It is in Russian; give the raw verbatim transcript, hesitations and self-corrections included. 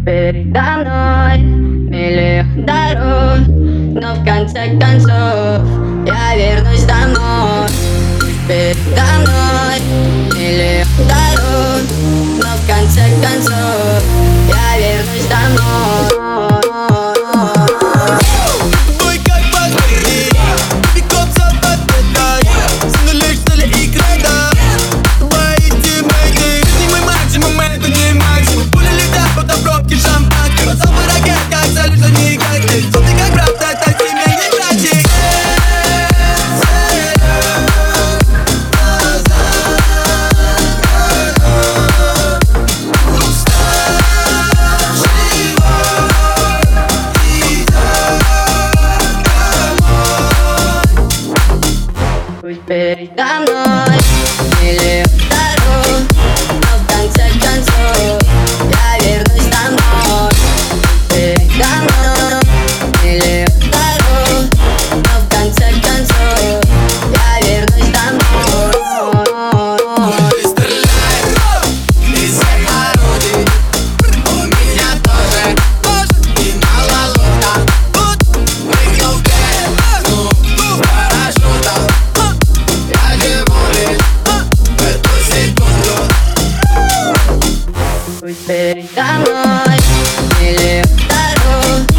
Передо мной миллион дорог, но в конце концов я вернусь домой. Передо мной миллион дорог, но в конце концов я вернусь домой. Пусть передо мной миллион дорог, но в конце концов я вернусь домой. Передо мной миллион дорог, но в конце концов я вернусь домой. Пули стреляют из всех орудий, у меня тоже, и мало лута. Прыгнул в бездну с парашютом, я живу лишь в эту секунду. Пусть передо мной миллион дорог,